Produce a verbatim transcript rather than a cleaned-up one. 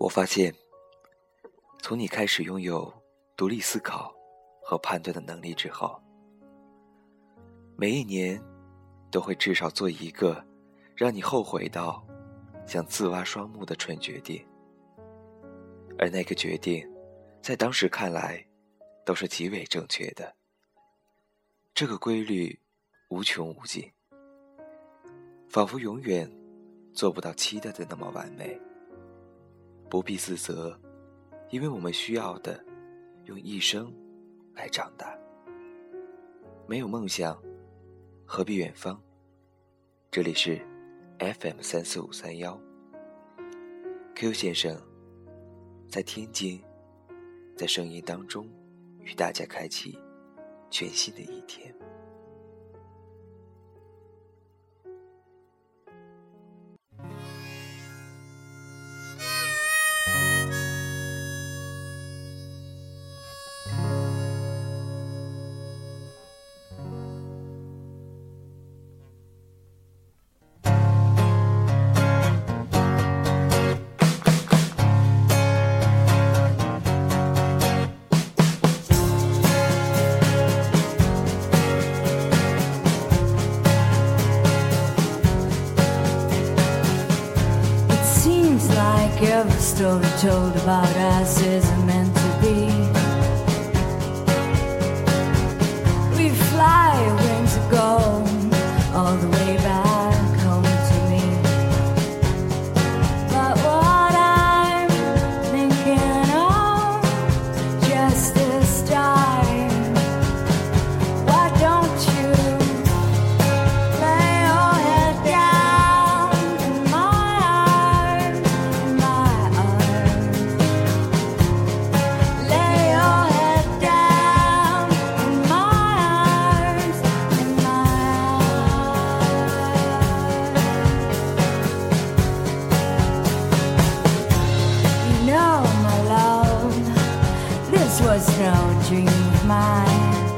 我发现，从你开始拥有独立思考和判断的能力之后，每一年都会至少做一个让你后悔到想自挖双目的蠢决定，而那个决定在当时看来都是极为正确的。这个规律无穷无尽，仿佛永远做不到期待的那么完美。不必自责，因为我们需要的用一生来长大。没有梦想，何必远方？这里是 F M 三四五三幺 Q 先生在天津，在声音当中与大家开启全新的一天。 Every story told about us isn't meant to be. We fly wings of gold all the way back home to me. But what I'm thinking of just this time, why don't you lay your head down in my arms? Was no dream of mine.